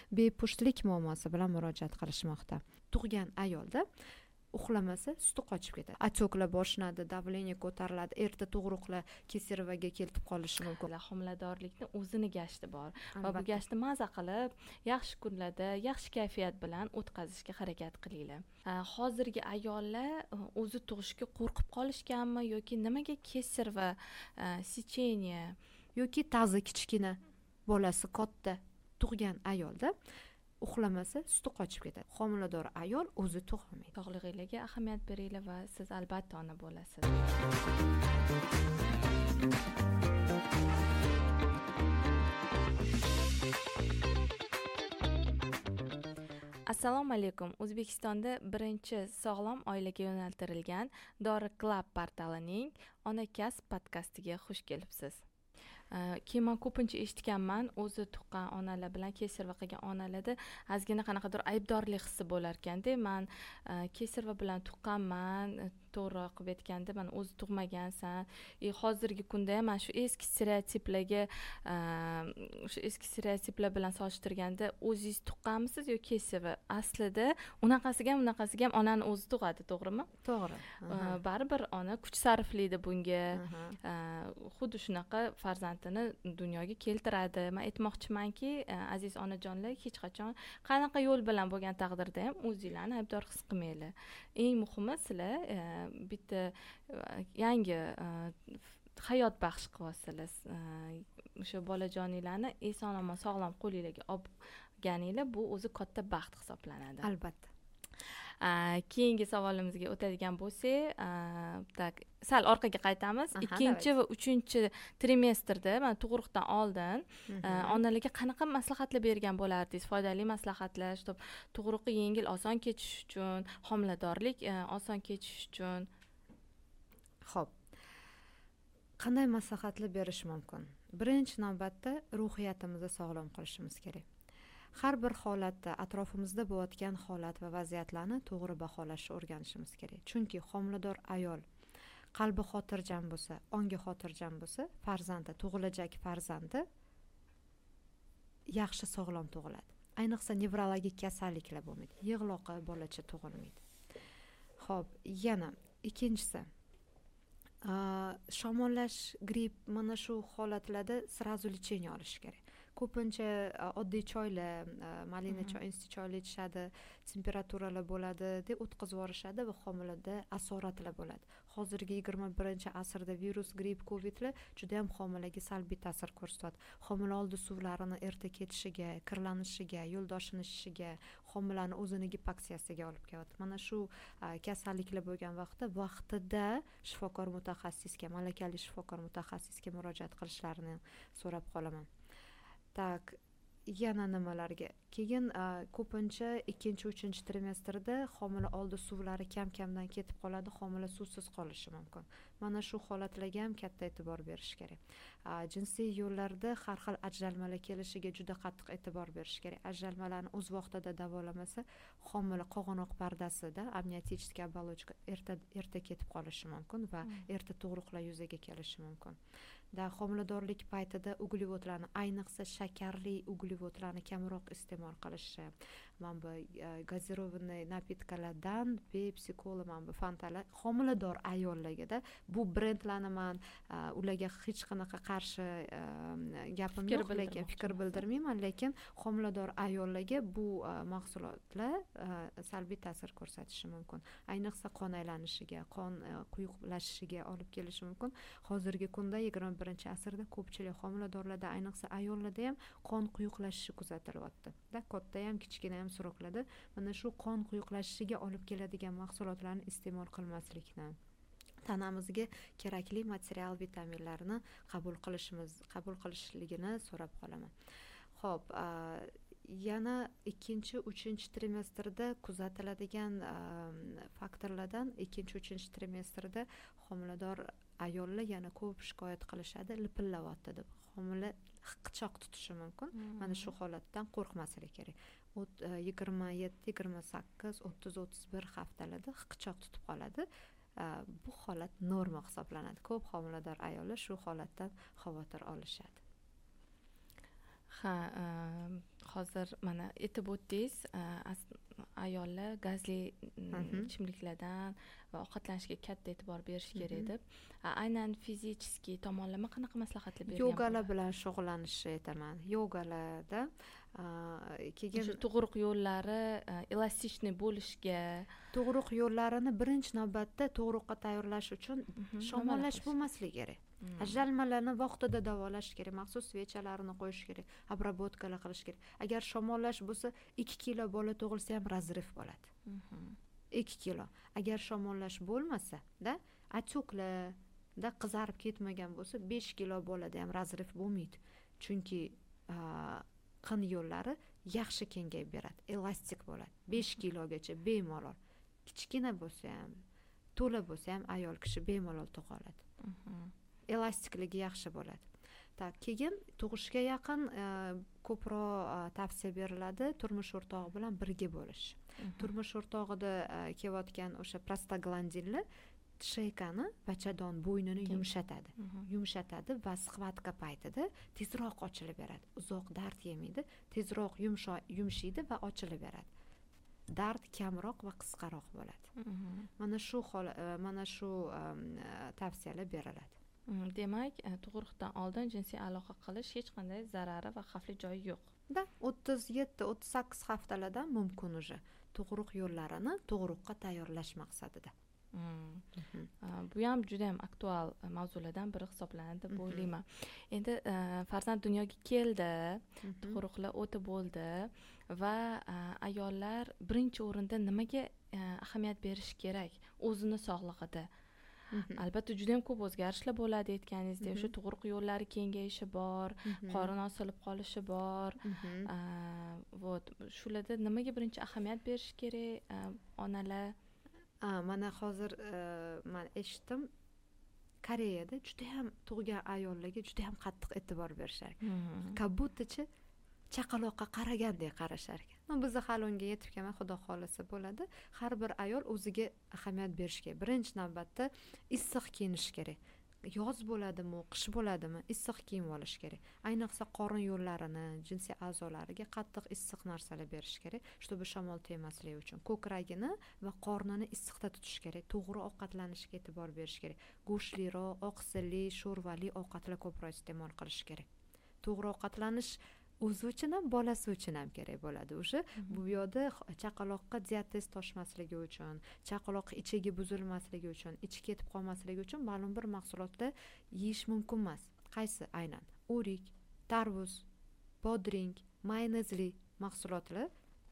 bepushtlik muammosi bilan murojaat qilishmoqda. Tug'gan ayolda uxlamasa suti qochib ketadi, отекlar boshlanadi, давление ko'tariladi, erta tug'ruqlar kesirvaga kelib qolishi mumkin. Homiladorlikni o'zini gashti bor va bu gashtni maza qilib yaxshi kunlarda yaxshi kayfiyat bilan o'tkazishga harakat qilinglar. Hozirgi ayollar o'zi tug'ishga qo'rqib qolishganmi yoki nimaga kesir va secheniya yoki ta'zi kichkina, bolasi katta tug'gan ayolda uxlamasa suti qochib ketadi. Homilador ayol o'zi tug'olmaydi. Sog'lig'ingizga ahamiyat beringlar va siz albatta ona bo'lasiz. Assalomu alaykum. O'zbekistonda birinchi sog'lom oilaga yo'naltirilgan Dori Club portalining Ona kasb podkastiga xush kelibsiz. Keyin men ko'pincha eshitganman, o'zi tuqqan onalar bilan kesirva qilgan onalarda ozgina qanaqadir aybdorlik hissi bo'lar ekanda. Men kesirva bilan tuqqanman, to'g'riroq qilib aytganda, men o'zi tug'magansan. Hozirgi kunda ham shu eski stereotiplar bilan solishtirganda o'zingiz tuqqanmisiz yoki kesirva? Aslida unaqasiga ham onani o'zi tug'adi, to'g'rimi? To'g'ri. Baribir ona kuch sarflaydi bunga. Xuddi shunaqa farzandini dunyoga keltiradi. Men aytmoqchimanki, aziz onajonlar, hech qachon qanaqa yo'l bilan bo'lgan taqdirda ham o'zingizlarni aybdor his qilmanglar. Eng muhimi sizlar bitta yangi hayot baxsh qilyapsizlar. O'sha bolajoninglarni eson-omon sog'lom qo'lingizga olganinglar, bu o'zi katta baxt hisoblanadi. Albatta. Keyingi savolimizga o'tadigan bo'lsak, sal orqaga qaytamiz. Ikkinchi va uchinchi trimestrda, mana tug'ruqdan oldin onalarga qanaqa maslahatlar bergan bo'lardingiz? Foydali maslahatlar, tug'ruqi yengil, oson kechish uchun, homiladorlik oson kechish uchun. Xo'p. Qanday maslahatlar berish mumkin? Birinchi navbatda ruhiyatimizni sog'lom qilishimiz kerak. Har bir holatda atrofimizda bo'layotgan holat va vaziyatlarni to'g'ri baholashni o'rganishimiz kerak. Chunki homilador ayol qalbi xotirjam bo'lsa, ongi xotirjam bo'lsa, farzandi, tug'ilajak farzandi yaxshi sog'lom tug'iladi. Ayniqsa nevrologik kasalliklar bo'lmaydi. Yig'loqi bolacha tug'ilmaydi. Xo'p, yana ikkinchisi, shamollash, gripp, mana shu holatlarda srazu lecheniya olish kerak. Ko'pincha oddiy choylar, malina choy, insti choylar ichishadi, temperaturalar bo'ladi deb o'tkazib yuborishadi va homilada asoratlar bo'ladi. Hozirgi 21-asrda virus, gripp, covidlar juda ham homilaga salbiy ta'sir ko'rsatadi. Homila oldi suvlarini erta ketishiga, kirlanishiga, yo'ldoshini ishishiga, homilani o'zini gipoksiyasiga olib keladi. Mana shu kasalliklar bo'lgan vaqtida shifokor mutaxassisga, malakali shifokor mutaxassisga murojaat qilishlarini so'rab qolaman. Tak, yana nimalarga? Keyin ko'pincha 2-3 trimestrda homila oldi suvlari kam-kamdan ketib qoladi, homila suvsiz qolishi mumkin. Mana shu holatlarga ham katta e'tibor berish kerak. Jinsiy yo'llarda har xil ajralmalar kelishiga juda qattiq e'tibor berish kerak. Ajralmalarni o'z vaqtida davolamasa, homila qog'onoq pardasida amniotichniy оболочка erta ketib qolishi mumkin va erta tug'ruqlar yuzaga kelishi mumkin. Homiladorlik paytida uglevodlarni, ayniqsa shakarli uglevodlarni kamroq iste'mol qilishi, mana bu gazirovanный napitkalardan Pepsi, Cola, mana bu Fantalar homilador ayollarga bu brendlarni men ularga hech qanaqa qarshi gapim yo'q, lekin fikr bildirmayman, lekin homilador ayollarga bu mahsulotlar salbiy ta'sir ko'rsatishi mumkin. Ayniqsa qon aylanishiga, qon quyuqlashishiga olib kelishi mumkin. Hozirgi kunda 21-asrda ko'pchilik homiladorlarda, ayniqsa ayollarda ham qon quyuqlashishi kuzatilyapti. Katta ham, kichkina ham suruklarda mana shu qon quyuqlashishiga olib keladigan mahsulotlarni iste'mol qilmaslikni, tanamizga kerakli material, vitaminlarni qabul qilishligini so'rab qolaman. Xo'p, yana 2-3 trimestrda kuzatiladigan faktorlardan 2-3 trimestrda homilador ayollar yana ko'p shikoyat qilishadi, lipillayapti deb. Homila hiqichoq tutishi mumkin. Mana shu holatdan qo'rqmaslik kerak. 27, 28, 30, 31 haftalarda hiqichoq tutib qoladi. Bu holat norma hisoblanadi. Ko'p homilador ayollar shu holatdan xavotir olishadi. Ha, hozir mana aytib o'tdingiz, ayollar gazli ichimliklardan va ovqatlanishga katta e'tibor berish kerak deb. Aynan fiziskiy tomonlama qanaqa maslahatlar bergan? Yogalar bilan shug'ullanishni aytaman. Yogalarda keyin tug'ruq yo'llari elastikniy bo'lishga, tug'ruq yo'llarini birinchi navbatda tug'ruqqa tayyorlash uchun shamollash bo'lmasligi kerak. Ajralmalarni vaqtida davolash kerak, maxsus svechalarini qo'yish kerak, obrabotkalar qilish kerak. Agar shamollash bo'lsa, 2 kilo bola tug'ilsa ham razriv bo'ladi. 2 kilo. Agar shamollash bo'lmasa, atyuklarda qizarib ketmagan bo'lsa, 5 kilo bolada ham razriv bo'lmaydi. Chunki qin yo'llari yaxshi kengayib beradi, elastik bo'ladi. 5 kilogacha bemalol. Kichkina bo'lsa ham, to'la bo'lsa ham ayol kishi bemalol tug'a oladi. Elastikligi yaxshi bo'ladi. Keyin tug'ishga yaqin ko'proq tavsiya beriladi turmush o'rtog'i bilan birga bo'lish. Turmush o'rtog'ida kelayotgan o'sha prostaglandinlar shaykani, bachadon bo'ynini yumshatadi va sxvatka paytida tezroq ochilib beradi. Uzoq dard yemaydi, tezroq yumshaydi va ochilib beradi. Dard kamroq va qisqaroq bo'ladi. Mana shu tavsiyalar beriladi. Demak, tug'ruqdan oldin jinsiy aloqa qilish hech qanday zarari va xavfli joyi yo'q. 37-38 haftalardan mumkin uje tug'ruq yo'llarini tug'ruqqa tayyorlash maqsadida. Bu ham juda ham aktual mavzulardan biri hisoblanadi deb o'ylayman. Endi farzand dunyoga keldi, tug'ruqlar o'tib bo'ldi va ayollar birinchi o'rinda nimaga ahamiyat berish kerak o'zini sog'lig'ida? Albatta juda ham ko'p o'zgarishlar bo'ladi aytganingizdek, o'sha tug'ruq yo'llari kengayishi bor, qorin osilib qolishi bor. Shularda nimaga birinchi ahamiyat berish kerak onalar? Mana hozir men eshitdim, Koreyada juda ham tug'gan ayollarga juda ham qattiq e'tibor berishar. Kabutachi chaqaloqqa qaragandek qarashar ekan. Biz hali unga yetib kelmay, xudo xolasa bo'ladi. Har bir ayol o'ziga ahamiyat berish kerak. Birinchi navbatda issiq kiyinish kerak. Yoz bo'ladimi, qish bo'ladimi, issiq kiyim olish kerak. Ayniqsa qorin yo'llarini, jinsiy a'zolariga qattiq issiq narsalar berish kerak, чтобы shamol tegmasligi uchun. Ko'kragini va qornini issiqda tutish kerak. To'g'ri ovqatlanishga e'tibor berish kerak. Go'shtliroq, oqsilli, sho'rvali ovqatlar ko'proq iste'mol qilish kerak. To'g'ri ovqatlanish o'zi uchun ham, bolasi uchun ham kerak bo'ladi. O'sha bu yo'lda chaqaloqqa diabetes toshmasligi uchun, chaqaloq ichagi buzilmasligi uchun, ichi ketib qolmasligi uchun ma'lum bir mahsulotlar yeyish mumkin emas. Qaysi? Aynan o'rik, tarvuz, bodring, mayonezli mahsulotlar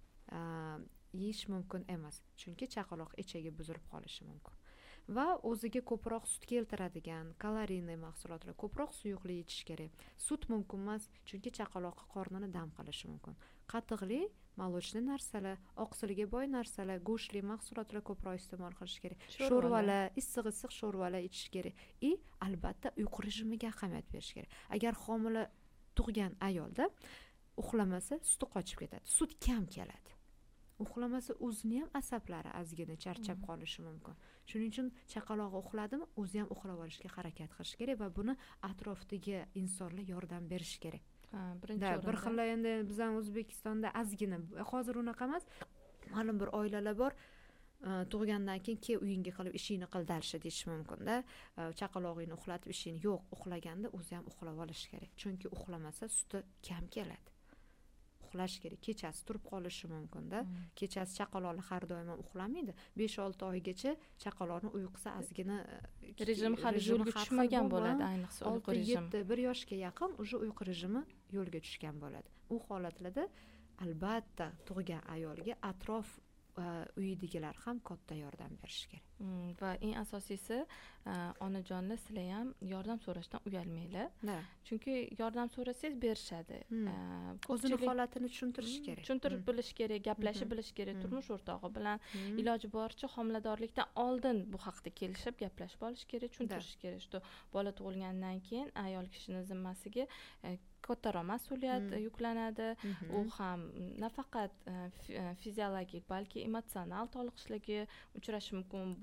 yeyish mumkin emas. Chunki chaqaloq ichagi buzilib qolishi mumkin. Va o'ziga ko'proq sut keltiradigan kaloriyli mahsulotlar, ko'proq suyuqli ichish kerak. Sut mumkin emas, chunki chaqaloq qornini dam qilishi mumkin. Qatiqli, molochli narsalar, oqsilga boy narsalar, go'shtli mahsulotlar ko'proq iste'mol qilish kerak. Sho'rvalar, issiq sho'rvalar ichish kerak. Albatta uyqu rejimiga ahamiyat berish kerak. Agar homila tug'gan ayolda uxlamasa, suti qochib ketadi. Sut kam keladi. Uxlamasa o'zini ham asablari ozgina charchab qolishi mumkin. Shuning uchun chaqaloq uxladimi, o'zi ham uxlab olishga harakat qilish kerak va buni atrofdagi insonlar yordam berish kerak. Bir xil endi bizning O'zbekistonda ozgina, hozir unaqa emas. Ma'lum bir oilalar bor, tug'gandan keyin uyingga qilib ishingni qil darshi deyish mumkin-da. Chaqalog'ingni uxlatib ishingni yo'q, uxlaganda o'zi ham uxlab olish kerak. Chunki uxlamasa suti kam keladi. Uxlash kerak. Kechasi turib qolishi mumkin-da. Kechasi chaqaloqlar har doim uxlamaydi. 5-6 oygacha chaqaloqning uyqusi ozgina rejim hali yo'lga tushmagan bo'ladi, ayniqsa uyqu rejimi. 1 yoshga yaqin o'sha uyqu rejimi yo'lga tushgan bo'ladi. U holatlarda albatta tug'gan ayolga atrof uyidagilar ham katta yordam berish kerak. Va eng asosiysi onajonlar sizlar ham yordam so'rashdan uyalmanglar. Chunki yordam so'rasangiz berishadi. O'zini holatini tushuntirish kerak. Tushuntirib bilish kerak, gaplashib bilish kerak. Turmush o'rtog'i bilan iloji boricha homiladorlikdan oldin bu haqda kelishib gaplashib olish kerak, tushuntirish kerak. Что bola tug'ilgandan keyin ayol kishining zimmasiga kattaroq mas'uliyat yuklanadi. U ham nafaqat fiziologik, balki emotsional toliqishligi uchrashi mumkin. Bu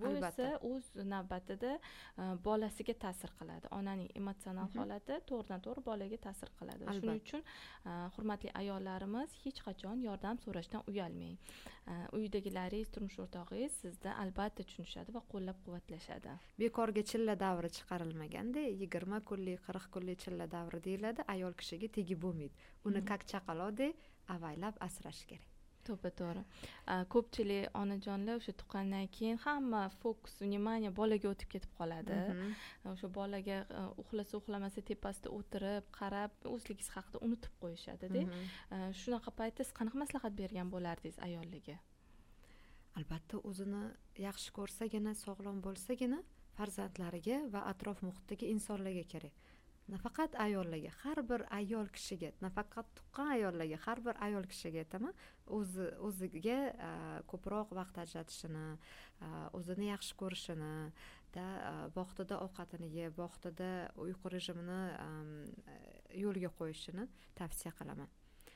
bu esa o'z navbatida bolasiga ta'sir qiladi. Onaning emotsional holati to'g'ridan-to'g'ri bolaga ta'sir qiladi. Shuning uchun hurmatli ayollarimiz hech qachon yordam so'rashdan uyalmang. Uydagilaringiz, turmush o'rtog'ingiz sizni albatta tushunishadi va qo'llab-quvvatlashadi. Bekorga chilla davri chiqarilmaganda, 20 kunlik, 40 kunlik chilla davri deyiladi, ayol kishiga tegib bo'lmaydi. Uni kak chaqaloqdek avaylab asrash kerak. To'g'ri. Ko'pchilik onajonlar o'sha tuqqandan keyin hamma fokus, vнимание bolaga o'tib ketib qoladi. O'sha bolaga uxlasa uxlamasa tepasida o'tirib, qarab, o'zligingiz haqida unutib qo'yishadi-da. Shunaqa paytda siz qanaqa maslahat bergan bo'lardingiz ayollarga? Albatta, o'zini yaxshi ko'rsagina, sog'lom bo'lsagina farzandlariga va atrof muhitdagi insonlarga kerak. Nafaqat ayollarga, har bir ayol kishiga, nafaqat tuqqan ayollarga, har bir ayol kishiga aytaman, o'ziga ko'proq vaqt ajratishini, o'zini yaxshi ko'rishini, vaqtida ovqatini yeb, vaqtida uyqu rejimini yo'lga qo'yishini tavsiya qilaman.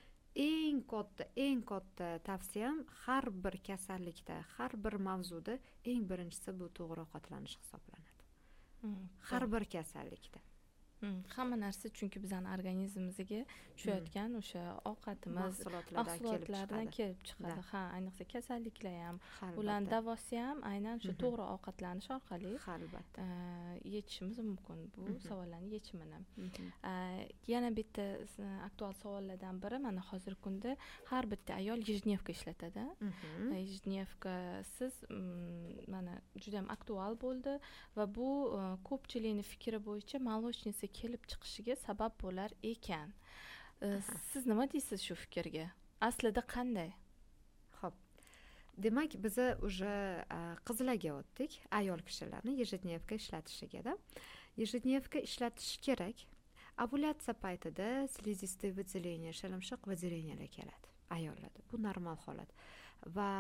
Eng katta tavsiyam har bir kasallikda, har bir mavzuda eng birinchisi bu to'g'ri ovqatlanish hisoblanadi. Har bir kasallikda. Hamma narsa chunki bizning organizmimizga tushayotgan o'sha ovqatimiz mahsulotlardan kelib chiqadi. Ha, ayniqsa kasalliklar ham, ularning davosi ham aynan shu to'g'ri ovqatlanish orqali yechishimiz mumkin bu savollarning yechimini. Yana bitta aktual savollardan biri, mana hozirgi kunda har bitta ayol ежедневка ishlatadi. Ежедневка siz mana juda ham aktual bo'ldi va bu ko'pchilikning fikri bo'yicha молочница kelib chiqishiga sabab bo'lar ekan. Siz nima deysiz shu fikrga? Aslida qanday? Xo'p. Demak, biz уже qizlarga o'tdik, ayol kishilarni ежедневка ishlatishiga-da. Ежедневка ishlatish kerak. Ovulyatsiya paytida слизистый выделение, shilimshiq выделениyalar keladi ayollarda. Bu normal holat. Va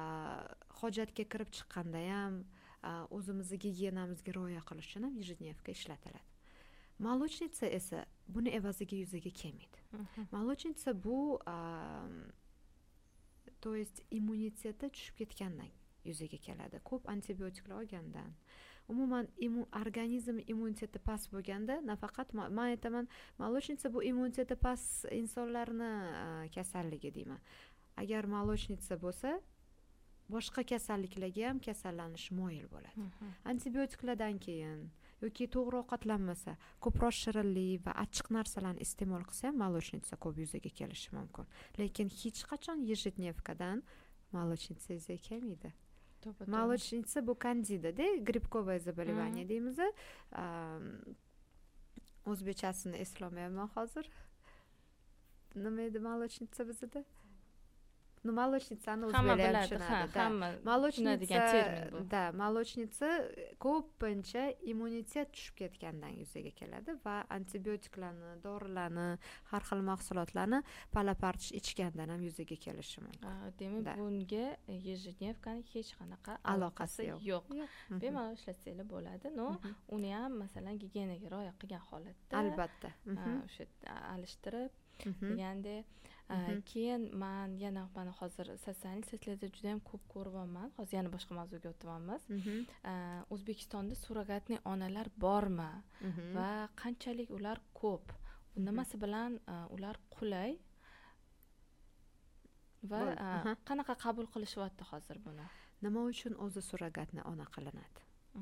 hojatga kirib chiqqanda ham o'zimizning gigiyenamizga rioya qilish uchun ham ежедневка ishlatiladi. Молочница esa buni evaziga yuzaga kelmaydi. Молочница bu to есть immuniteti tushib ketgandan yuzaga keladi. Ko'p antibiotiklar olgandan. Umuman organizm immuniteti past bo'lganda, nafaqat men aytaman, молочница bu immuniteti past insonlarni kasalligi deyman. Agar молочница bo'lsa, boshqa kasalliklarga ham kasallanish moyil bo'ladi. Antibiotiklardan keyin yoki to'g'ri ovqatlanmasa, ko'proq shirinlik va achchiq narsalarni iste'mol qilsa ham молочница ko'p yuzaga kelishi mumkin. Lekin hech qachon ежедневкаdan молочница yuzaga kelmaydi. Молочница bu kandida-da, gribkovое заболевание deymiz. O'zbekchasini eslolmayman hozir. Nima edi молочница bizda? Молочницani o'zbeklar tushunadi. Молочница ko'pincha immunitet tushib ketgandan yuzaga keladi va antibiotiklarni, dorilarni, har xil mahsulotlarni palapartish ichgandan ham yuzaga kelishi mumkin. Demak, bunga ежедневкаning hech qanaqa aloqasi yo'q. Bemalol ishlatsangiz bo'ladi. Uni ham masalan gigiyenaga rioya qilgan holatda albatta o'sha alishtirib deganda keyin men yana mana hozir sizlarda juda ham ko'p ko'ryapman. Hozir yana boshqa mavzuga o'tyapmiz. O'zbekistonda surrogatli onalar bormi va qanchalik ular ko'p? Nimasi bilan ular qulay va qanaqa qabul qilishyapti hozir buni? Nima uchun o'zi surrogatli ona qilinadi?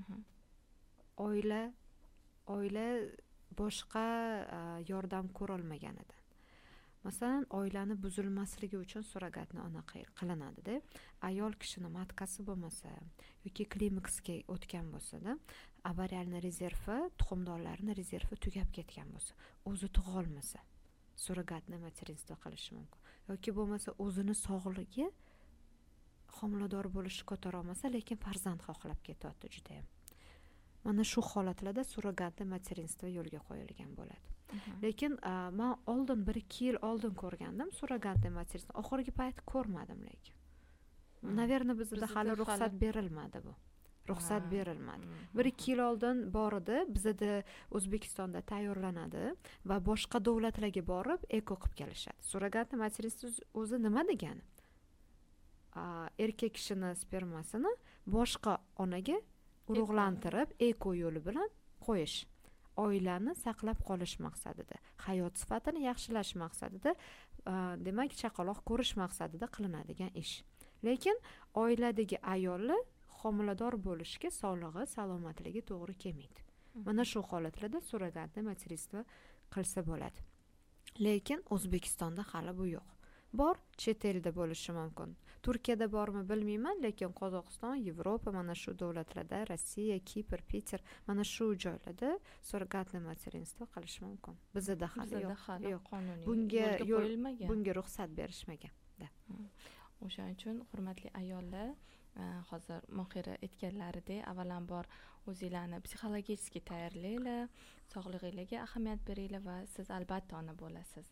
Oila boshqa yordam ko'ra olmaganida. Masalan, oilani buzilmasligi uchun surrogatli ona qilinadi-da. Ayol kishini matkasi bo'lmasa yoki klimaksga o'tgan bo'lsa-da, avarialni rezervi, tuxumdonlarning rezervi tugab ketgan bo'lsa, o'zi tug'a olmasa, surrogatli materinstvo qilishi mumkin. Yoki bo'lmasa o'zini sog'ligi homilador bo'lishni ko'tara olmasa, lekin farzand xohlab ketyapti juda ham. Mana shu holatlarda surrogatli materinstvo yo'lga qo'yilgan bo'ladi. Lekin men oldin 1-2 yil oldin ko'rgandim surrogatli materinstvo. Oxirgi payt ko'rmadim lekin. Naverno bizda hali ruxsat berilmadi bu. Ruxsat berilmadi. 1-2 yil oldin bor edi, bizda O'zbekistonda tayyorlanadi va boshqa davlatlarga borib eko qilib kelishadi. Surrogatli materinstvo o'zi nima degani? Erkak kishining spermasini boshqa onaga urug'lantirib eko yo'li bilan qo'yish, oilani saqlab qolish maqsadida, hayot sifatini yaxshilash maqsadida, demak chaqaloq ko'rish maqsadida qilinadigan ish. Lekin oiladagi ayolni homilador bo'lishga sog'lig'i, salomatligi to'g'ri kelmaydi. Mana shu holatlarda surrogatniy materistvo qilsa bo'ladi. Lekin O'zbekistonda hali bu yo'q. Bor, chet elda bo'lishi mumkin. Turkiyada bormi bilmayman, lekin Qozog'iston, Yevropa mana shu davlatlarda, Rossiya, Kipr, Peter, mana shu joylarda surrogatniy materinstvo qilish mumkin. Bizda hali yo'q. Qonuniy bunga ruxsat berishmagan. O'shaning uchun hurmatli ayollar, hozir Mohira aytganlaridek, avvalambor o'zinglarni psixologik tayyorlanglar, sog'lig'ingizga ahamiyat beringlar va siz albatta ona bo'lasiz.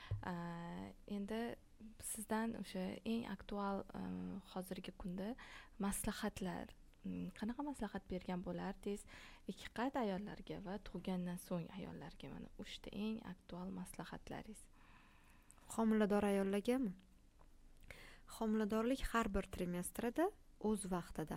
Endi sizdan o'sha eng aktual hozirgi kunda maslahatlar, qanaqa maslahat bergan bo'lardingiz ikki qat ayollarga va tug'gandan so'ng ayollarga? Mana 3 ta eng aktual maslahatlaringiz. Homilador ayollargami? Homiladorlik har bir trimestrida o'z vaqtida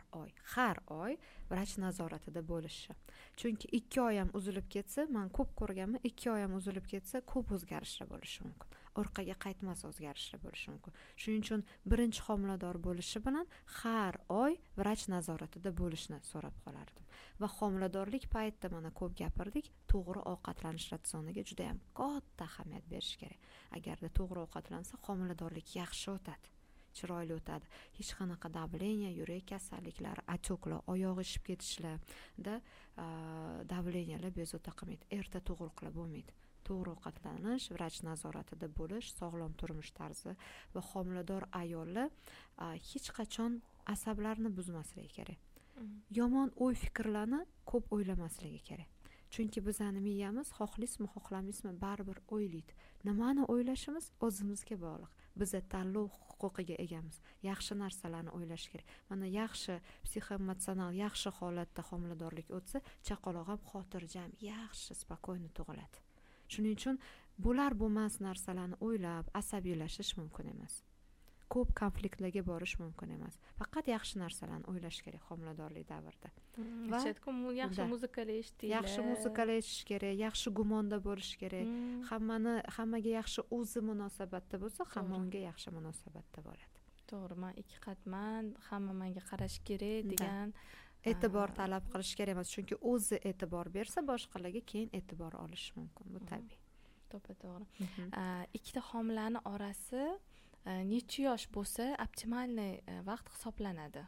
har oy vrach nazoratida bo'lishi. Chunki 2 oy ham uzilib ketsa, men ko'p ko'rganman, 2 oy ham uzilib ketsa, ko'p o'zgarishlar bo'lishi mumkin. Orqaga qaytmas o'zgarishlar bo'lishi mumkin. Shuning uchun birinchi homilador bo'lishi bilan har oy vrach nazoratida bo'lishni so'rab qolardim. Va homiladorlik paytida mana ko'p gapirdik, to'g'ri ovqatlanish ratsioniga juda ham katta ahamiyat berish kerak. Agarda to'g'ri ovqatlansa, homiladorlik yaxshi o'tadi. Chiroyli o'tadi. Hech qanaqa давление, yurak kasalliklari, отекlar, oyoq ishib ketishlarda давлениyalar bezovta qilmaydi. Erta tug'ruqlar bo'lmaydi. To'g'ri ovqatlanish, vrach nazoratida bo'lish, sog'lom turmush tarzi va homilador ayollar hech qachon asablarini buzmasligi kerak. Yomon o'y fikrlarni ko'p o'ylamasligi kerak. Chunki bizning miyamiz xohlaysizmi, xohlamaysizmi baribir o'ylaydi. Nimani o'ylashimiz o'zimizga bog'liq. Biz tanlov huquqiga egamiz. Yaxshi narsalarni o'ylash kerak. Mana yaxshi psixoemotsional, yaxshi holatda homiladorlik o'tsa, chaqaloq ham xotirjam, yaxshi, spokойно tug'iladi. Shuning uchun bo'lmas narsalarni o'ylab, asabiylashish mumkin emas. Ko'p konfliktlarga borish mumkin emas. Faqat yaxshi narsalarni o'ylash kerak homiladorlik davrida. Va yaxshi muzikalar eshitishlar. Yaxshi muzikalar eshitish kerak, yaxshi gumonda bo'lish kerak. Hammaga yaxshi o'zi munosabatda bo'lsa, hamma unga yaxshi munosabatda bo'ladi. To'g'ri, men ikki qatman, hamma menga qarash kerak degan e'tibor talab qilish kerak emas, chunki o'zi e'tibor bersa, boshqalarga keyin e'tibor olish mumkin. Bu tabiiy. To'g'ri. Ikkita homilaning orasi necha yosh bo'lsa optimalniy vaqt hisoblanadi?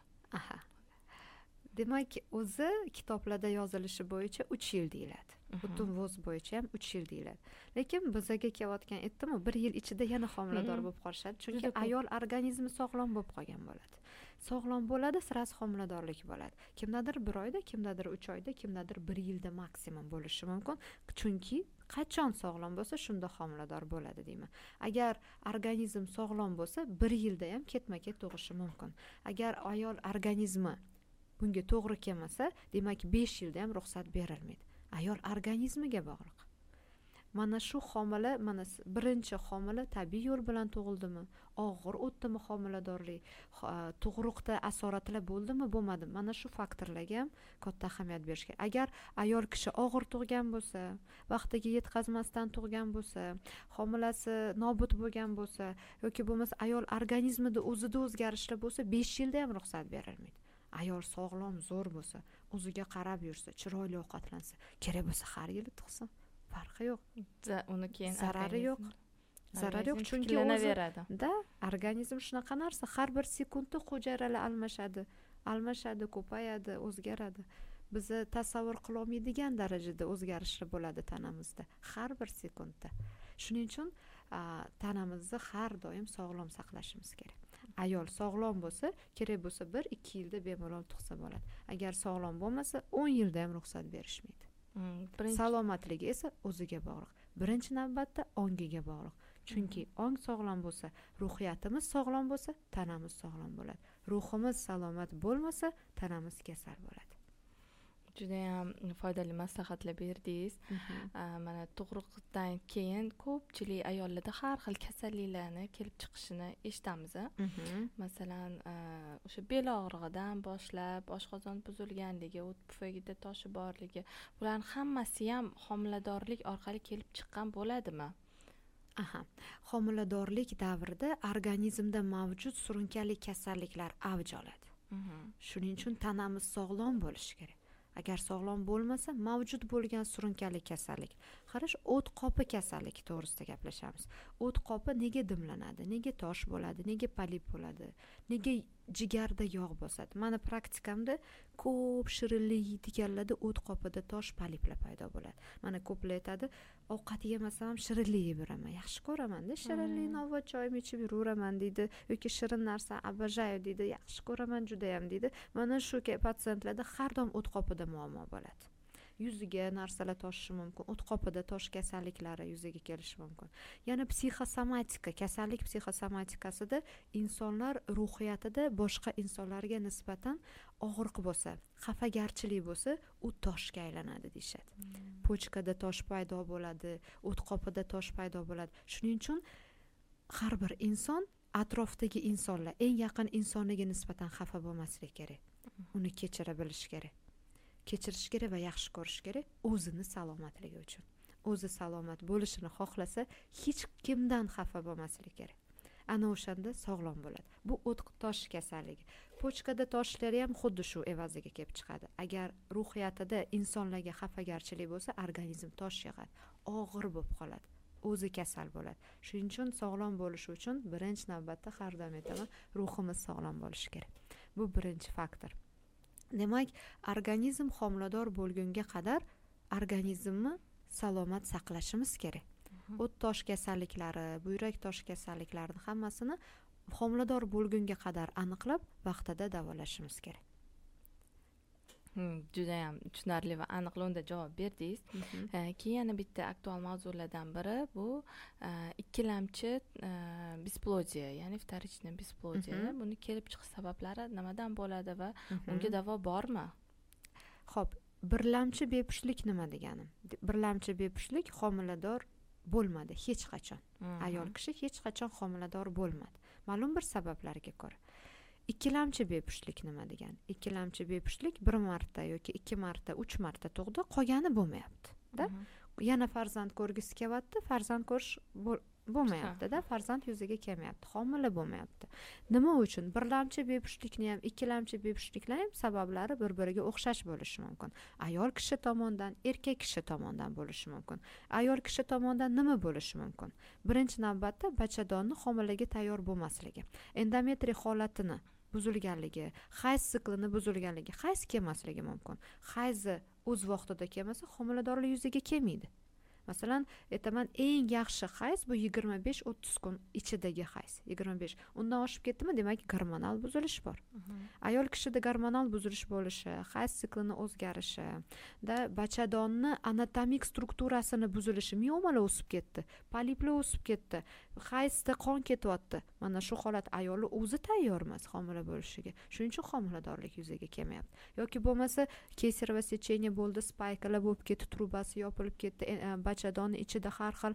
Demak, o'zi kitoblarda yozilishi bo'yicha 3 yil deyiladi. Butun voz bo'yicha ham 3 yil deyiladi. Lekin bizga kelayotgan aytdim, 1 yil ichida yana homilador bo'lib qolishadi, chunki ayol organizmi sog'lom bo'lib qolgan bo'ladi. Sog'lom bo'ladi, sirasi homiladorlik bo'ladi. Kimdadir 1 oyda, kimdadir 3 oyda, kimdadir 1 yilda maksimum bo'lishi mumkin. Chunki qachon sog'lom bo'lsa, shunda homilador bo'ladi deyman. Agar organizm sog'lom bo'lsa, 1 yilda ham ketma-ket tug'ishi mumkin. Agar ayol organizmi bunga to'g'ri kelmasa, demak 5 yilda ham ruxsat berilmaydi. Ayol organizmiga bog'liq. Mana shu homila, mana birinchi homila tabiiy yo'l bilan tug'ildimi, og'ir o'tdimi homiladorlik, tug'ruqda asoratlar bo'ldimi, bo'lmadimi? Mana shu faktorlarga ham katta ahamiyat berish kerak. Agar ayol kishi og'ir tug'gan bo'lsa, vaqtiga yetkazmasdan tug'gan bo'lsa, homilasi nobud bo'lgan bo'lsa yoki bo'lmasa ayol organizmida o'zida o'zgarishlar bo'lsa, 5 yilda ham ruxsat berilmaydi. Ayol sog'lom, zo'r bo'lsa, o'ziga qarab yursa, chiroyli ovqatlansa, kerak bo'lsa har yili tug'sin. Farqi yo'q. Uni keyin zarari yo'q. Zarari yo'q, chunki o'zida organizm shunaqa narsa, har bir sekundda hujayralar almashadi, ko'payadi, o'zgaradi. Bizni tasavvur qila olmaydigan darajada o'zgarishlar bo'ladi tanamizda har bir sekundda. Shuning uchun tanamizni har doim sog'lom saqlashimiz kerak. Ayol sog'lom bo'lsa, kerak bo'lsa 1-2 yilda bemalol tug'sa bo'ladi. Agar sog'lom bo'lmasa, 10 yilda ham ruxsat berishmaydi. Salomatligi esa o'ziga bog'liq. Birinchi navbatda ongiga bog'liq. Chunki ong sog'lom bo'lsa, ruhiyatimiz sog'lom bo'lsa, tanamiz sog'lom bo'ladi. Ruhimiz salomat bo'lmasa, tanamiz kasal bo'ladi. judayam foydali maslahatlar berdingiz. Mana tug'ruqdan keyin ko'pchilik ayollarda har xil kasalliklarni kelib chiqishini eshitamiz. Masalan, o'sha bel og'rig'idan boshlab oshqozon buzilganligi, o't pufagida toshi borligi, bularning hammasi ham homiladorlik orqali kelib chiqqan bo'ladimi? Homiladorlik davrida organizmda mavjud surunkali kasalliklar avj oladi. Shuning uchun tanamiz sog'lom bo'lishi kerak. Agar sog'lom bo'lmasa, mavjud bo'lgan surunkali kasallik, qarash, o't qopi kasalligi to'g'risida gaplashamiz. O't qopi nega dimlanadi, nega tosh bo'ladi, nega polip bo'ladi, nega jigarda yog' bosadi? Mana praktikamda ko'p shirinlik yeydiganlarda o't qopida tosh, poliplar paydo bo'ladi. Mana ko'plar aytadi, ovqat yemasam ham shirinlik yeb yuraman, yaxshi ko'raman-da, shirinlik, novvoy choyim ichib yuraman deydi, yoki shirin narsa обожаю deydi, yaxshi ko'raman judayam deydi. Mana shu patsientlarda har doim o't qopida muammo bo'ladi. Yuziga narsalar toshishi mumkin, o't qopida tosh kasalliklari yuzaga kelishi mumkin. Yana psixosomatika, kasallik psixosomatikasida insonlar ruhiyatida boshqa insonlarga nisbatan og'riq bo'lsa, xafagarchilik bo'lsa, u toshga aylanadi deyshadi. Pochkada tosh paydo bo'ladi, o't qopida tosh paydo bo'ladi. Shuning uchun har bir inson atrofdagi insonlar, eng yaqin insoniga nisbatan xafa bo'lmaslik kerak. Uni kechira bilish kerak. Kechirish kerak va yaxshi ko'rish kerak o'zini salomatligi uchun. O'zi salomat bo'lishini xohlasa, hech kimdan xafa bo'lmaslik kerak. Ana o'shanda sog'lom bo'ladi. Bu o't tosh kasalligi. Pochkada toshlari ham xuddi shu evaziga kelib chiqadi. Agar ruhiyatida insonlarga xafagarchilik bo'lsa, organizm tosh yig'adi, og'ir bo'lib qoladi. O'zi kasal bo'ladi. Shuning uchun sog'lom bo'lish uchun birinchi navbatda har doim aytaman, ruhimiz sog'lom bo'lishi kerak. Bu birinchi faktor. Demak, organizm homilador bo'lgunga qadar organizmni salomat saqlashimiz kerak. O't tosh kasalliklari, buyrak tosh kasalliklarini hammasini homilador bo'lgunga qadar aniqlab, vaqtida davolashimiz kerak. Judayam tushunarli va aniq lo'nda javob berdingiz. Keyin yana bitta aktual mavzulardan biri bu ikkilamchi besplodiya, ya'ni вторичный besplodiya. Buni kelib chiqish sabablari nimadan bo'ladi va unga davo bormi? Xo'p, birlamchi bepushtlik nima deganim? Birlamchi bepushtlik homilador bo'lmadi hech qachon. Ayol kishi hech qachon homilador bo'lmadi. Ma'lum bir sabablarga ko'ra. Ikkilamchi bepushtlik nima degani? Ikkilamchi bepushtlik 1 marta yoki 2 marta, 3 marta tug'di, qolgani bo'lmayapti-da. Yana farzand ko'rgisi kelyapti, farzand ko'rish bo'lmayapti-da, farzand yuzaga kelmayapti, homila bo'lmayapti. Nima uchun? Birlamchi bepushtlikni ham, ikkilamchi bepushtliklar ham sabablari bir-biriga o'xshash bo'lishi mumkin. Ayol kishi tomonidan, erkak kishi tomonidan bo'lishi mumkin. Ayol kishi tomonidan nima bo'lishi mumkin? Birinchi navbatda bachadonni homilaga tayyor bo'lmasligi, endometriy holatini buzilganligi, hayz siklini buzilganligi, hayz kelmasligi mumkin. Hayzi o'z vaqtida kelmasa, homiladorlik yuzaga kelmaydi. Masalan, aytaman, eng yaxshi hayz bu 25-30 kun ichidagi hayz. 25. Undan oshib ketdimi, demak gormonal buzilish bor. Ayol kishida gormonal buzilish bo'lishi, hayz siklini o'zgarishi, da bachadonni anatomik strukturasini buzilishi, miomalar o'sib ketdi, poliplar o'sib ketdi, hayzda qon ketyapti. Mana shu holat ayolni o'zi tayyor emas homila bo'lishiga. Shuning uchun homiladorlik yuzaga kelmayapti. Yoki bo'lmasa kesarova secheniya bo'ldi, spaykalar bo'lib ketdi, trubasi yopilib ketdi, bachadonni ichida har xil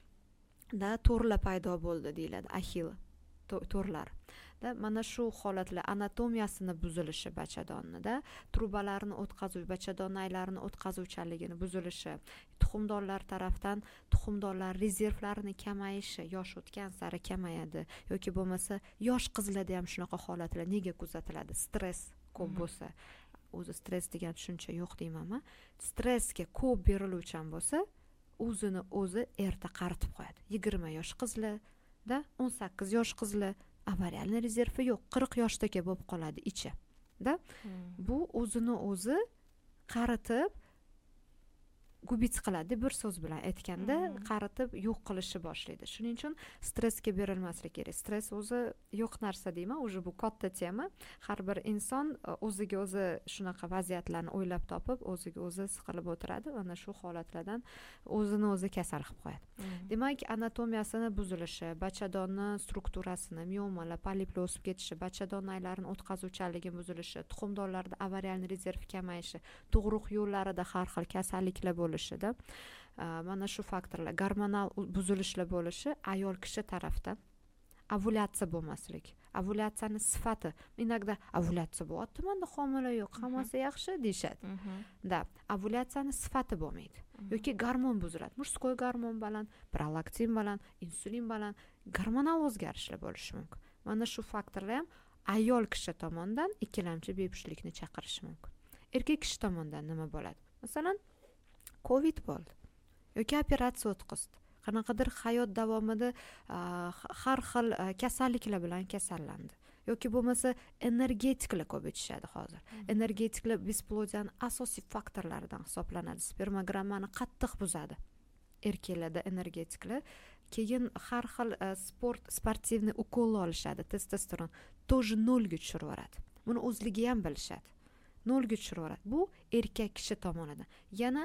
da to'rlar paydo bo'ldi deyiladi, axil to'rlar. Da mana shu holatlar anatomiyasini buzilishi bachadonnida, trubalarni o'tkazuv, bachadonnaylarini o'tkazuvchanligini buzilishi, tuxumdonlar tarafdan tuxumdonlar rezervlarini kamayishi, yosh o'tgan sari kamayadi yoki bo'lmasa yosh qizlarda ham shunaqa holatlar nega kuzatiladi? Stress ko'p bo'lsa, o'zi stress degan tushuncha yo'q deyman-a. Stressga ko'p beriluvchan bo'lsa, o'zini o'zi erta qaritib qo'yadi. 20 yosh qizlarda, 18 yosh qizlar avarialniy rezervi yo'q, 40 yoshdaga bo'lib qoladi ichi. Da bu o'zini o'zi qaritib gubits qiladi, bir so'z bilan aytganda qaritib yo'q qilishni boshlaydi. Shuning uchun stressga berilmaslik kerak. Stress o'zi yo'q narsa deyman, уже bu katta tema. Har bir inson o'ziga o'zi shunaqa vaziyatlarni o'ylab topib, o'ziga o'zi siqilib o'tiradi, ana shu holatlardan o'zini o'zi kasal qilib qo'yadi. Demak, anatomiyasini buzilishi, bachadonni strukturasini, miomalar, poliplar o'sib ketishi, bachadon naylarini o'tkazuvchanligi buzilishi, tuxumdonlarda avarial rezerv kamayishi, tug'ruq yo'llarida har xil kasalliklar bo'lishida, mana shu faktorlar, gormonal buzilishlar bo'lishi ayol kishi tarafdan ovulyatsiya bo'lmasligi. Ovulyatsiyani sifati, inogda ovulyatsiya bo'lyapti, menda homila yo'q, hammasi yaxshi deyishadi. Da, ovulyatsiyani sifati bo'lmaydi. Yoki gormon buziladi. Murskoy gormon baland, prolaktin baland, insulin baland, gormonal o'zgarishlar bo'lishi mumkin. Mana shu faktorlar ham ayol kishi tomonidan ikkilamchi bepushtlikni chaqirishi mumkin. Erkak kishi tomonidan nima bo'ladi? Masalan, COVID bo'ldi yoki operatsiya o'tkazdi. Qanaqadir hayot davomida har xil kasalliklar bilan kasallandi. Yoki bo'lmasa energetiklar ko'p ichishadi hozir. Energetiklar besplodiyani asosiy faktorlaridan hisoblanadi. Spermogrammani qattiq buzadi. Erkaklarda energetiklar. Keyin har xil sportivniy ukollar olishadi, testosteron тоже nolga tushirib yuboradi. Buni o'zligi ham bilishadi. Nolga tushirib yuboradi. Bu erkak kishi tomonidan. Yana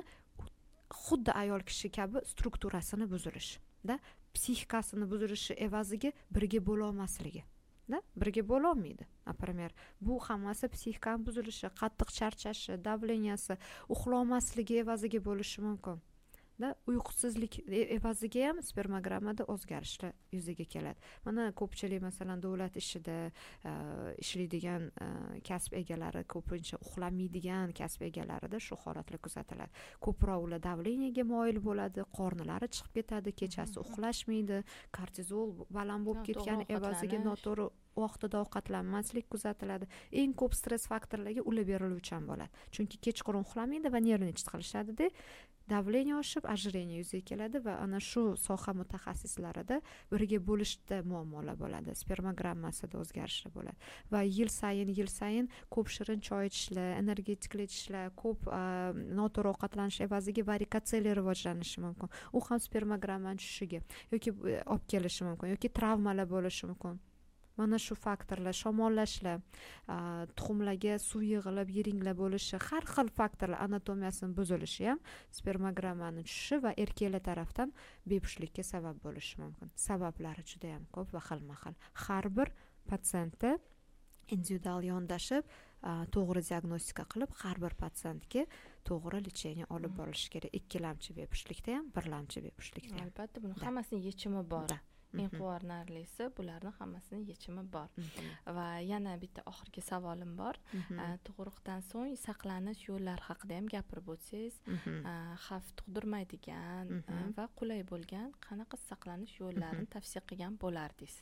xuddi ayol kishi kabi strukturasini buzilishi, da, psixikasini buzilishi evaziga birga bo'la olmasligi, da, birga bo'la olmaydi. Например, bu hammasi psixikani buzilishi, qattiq charchashi, davleniyasi, uxlolmasligi evaziga bo'lishi mumkin. Da, uyqusizlik evaziga ham spermogrammada o'zgarishlar yuzaga keladi. Mana ko'pchilik masalan davlat ishida ishlaydigan kasb egalari, ko'pincha uxlamaydigan kasb egalarida shu holatlar kuzatiladi. Ko'proq ular davleniyaga moyil bo'ladi, qornilari chiqib ketadi, kechasi uxlashmaydi, kortizol baland bo'lib ketgan evaziga noto'g'ri vaqtida ovqatlanmaslik kuzatiladi. Eng ko'p stress faktorlarga ular beriluvchan bo'ladi. Chunki kechqurun uxlamaydi va nервничать qilishadi-da, davleniya oshib, ojireniya yuzaga keladi va ana shu soha mutaxassislarida birga bo'lishda muammolar bo'ladi, spermogrammasida o'zgarishlar bo'ladi va yil sayin ko'p shirin choy ichishlar, energetiklar ichishlar, ko'p noto'g'ri ovqatlanish evaziga varikotseliya rivojlanishi mumkin. U ham spermogrammaning tushishiga yoki olib kelishi mumkin, yoki travmalar bo'lishi mumkin. Mana shu faktorlar, shamollashlar, tuxumlarga suv yig'ilib, yiringlar bo'lishi, har xil faktorlar anatomiyasining buzilishi ham spermogrammaning tushishi va erkaklar tarafdan bepushtlikka sabab bo'lishi mumkin. Sabablari juda ham ko'p va xilma-xil. Har bir patsientda individual yondashib, to'g'ri diagnostika qilib, har bir patsientga to'g'ri lecheniya olib borilishi kerak. Ikkilamchi bepushtlikda ham, birlamchi bepushtlikda ham. Albatta, buni hammasining yechimi bor. Eng quvonarlisi bularning hammasini yechimi bor. Va yana bitta oxirgi savolim bor. Tug'ruqdan so'ng saqlanish yo'llari haqida ham gapirib o'tsangiz, xavf tug'dirmaydigan va qulay bo'lgan qanaqa saqlanish yo'llarini tavsiya qilgan bo'lardingiz?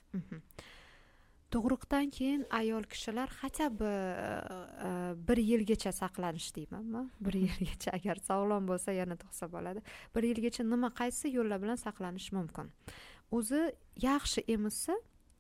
Tug'ruqdan keyin ayol kishilar hatto bir yilgacha saqlanish deymanmi? Bir yilgacha agar sog'lom bo'lsa yana tug'sa bo'ladi. Bir yilgacha qaysi yo'llar bilan saqlanish mumkin? O'zi yaxshi emizsa,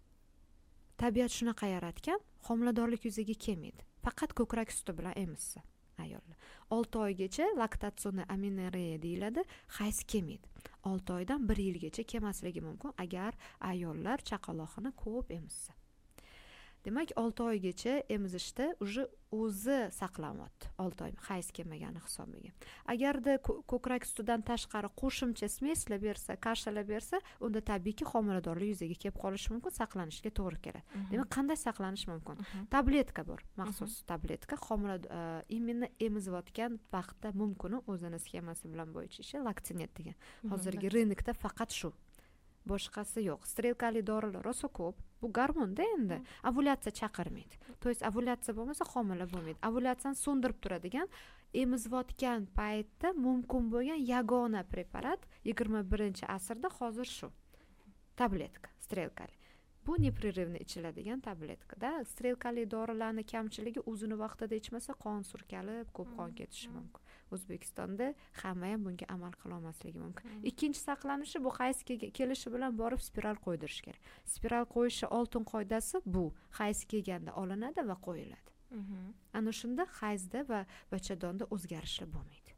tabiat shunaqa yaratgan, homiladorlik yuzaga kelmaydi. Faqat ko'krak suti bilan emizsa ayollar. 6 oygacha laktatsion aminoriya deyiladi, hayz kelmaydi. 6 oydan 1 yilgacha kelmasligi mumkin agar ayollar chaqaloqni ko'p emizsa. Demak, 6 oygacha emizishda o'zi saqlanyapti. 6 oy hayz kelmagani hisobiga. Agarda ko'krak sutidan tashqari qo'shimcha smeslar bersa, kashalar bersa, unda tabiiyki homiladorlik yuzaga kelib qolishi mumkin, saqlanishga to'g'ri keladi. Demak, qanday saqlanish mumkin? Tabletka bor, maxsus tabletka, imенно emizayotgan vaqtda mumkin o'zini sxemasi bilan bo'yicha ishi Laktinet degan. Hozirgi rynokda faqat shu. Boshqasi yo'q. Strelkali dorilar rosa ko'p. Bu gormonda endi ovulyatsiya chaqirmaydi. To есть ovulyatsiya bo'lmasa homila bo'lmaydi. Ovulyatsiyani so'ndirib turadigan, emizayotgan paytda mumkin bo'lgan yagona preparat 21-asrda hozir shu. Tabletka, strelkali. Bu непрерывно ichiladigan tabletka-da. Strelkali dorilarning kamchiligi o'zini vaqtida ichmasa qon surkalib, ko'p qon ketishi mumkin. O'zbekistonda hamma ham bunga amal qila olmasligi mumkin. Ikkinchi saqlanishi bu hayz kelishi bilan borib spiral qo'ydirish kerak. Spiral qo'yishi oltin qoidasi bu. Hayz kelganda olinadi va qo'yiladi. Ana shunda hayzda va bachadonda o'zgarishlar bo'lmaydi. To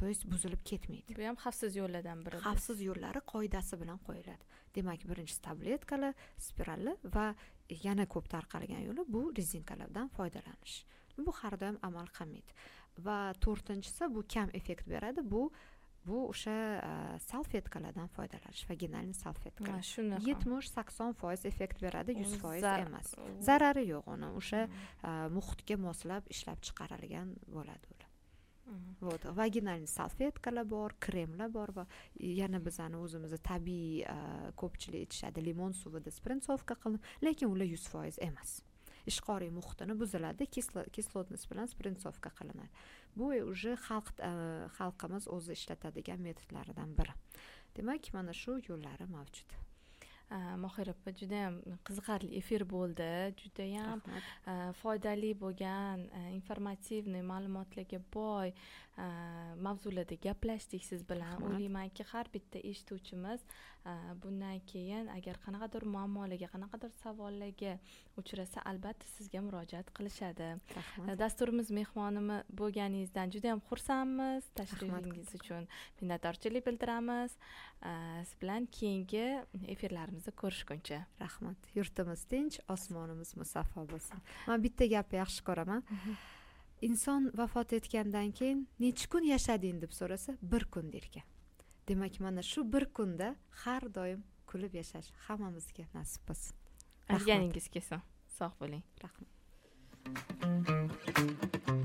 to есть buzilib ketmaydi. Bu ham xavfsiz yo'llardan biri. Xavfsiz yo'llari qoidasi bilan qo'yiladi. Demak, birinchisi tabletkalar, spiralli va yana ko'p tarqalgan yo'li bu rezinkalardan foydalanish. Bu har doim amal qilmaydi. Va to'rtinchisi bu kam effekt beradi. Bu o'sha salfetkalardan foydalanish, vaginalniy salfetkalar. 70-80% effekt beradi, 100% emas. Zarari yo'q uni. O'sha muhitga moslab ishlab chiqarilgan bo'ladi ular. Вот, vaginalniy salfetkalar bor, kremlar bor va yana bizani o'zimizni tabiiy ko'pchilik aytishadi, limon suvida spritsovka qilinib, lekin ular 100% emas. Ishqoriy muhitini buziladi, kislotность bilan spritsovka qilinadi. Bu уже xalqimiz o'zi ishlatadigan metodlaridan biri. Demak, mana shu yo'llari mavjud. Mohira opa, juda ham qiziqarli efir bo'ldi, juda ham foydali bo'lgan, informativniy ma'lumotlarga boy mavzularda gaplashdik siz bilan. O'ylaymanki, har bitta eshituvchimiz bundan keyin agar qanaqadir muammolarga, qanaqadir savollarga uchrasa, albatta sizga murojaat qilishadi. Dasturimiz mehmonimi bo'lganingizdan juda ham xursandmiz. Tashrifingiz uchun minnatdorchilik bildiramiz. Siz bilan keyingi efirlarimizda ko'rishguncha. Rahmat. Yurtimiz tinch, osmonimiz musaffo bo'lsin. Men bitta gapni yaxshi ko'raman. Inson vafot etgandan keyin necha kun yashading deb so'rasa, 1 kun derkan. Demak, mana shu 1 kunda har doim kulib yashash hammamizga nasib bo'lsin. Aytganingiz kelsin. Sog' bo'ling. Rahmat.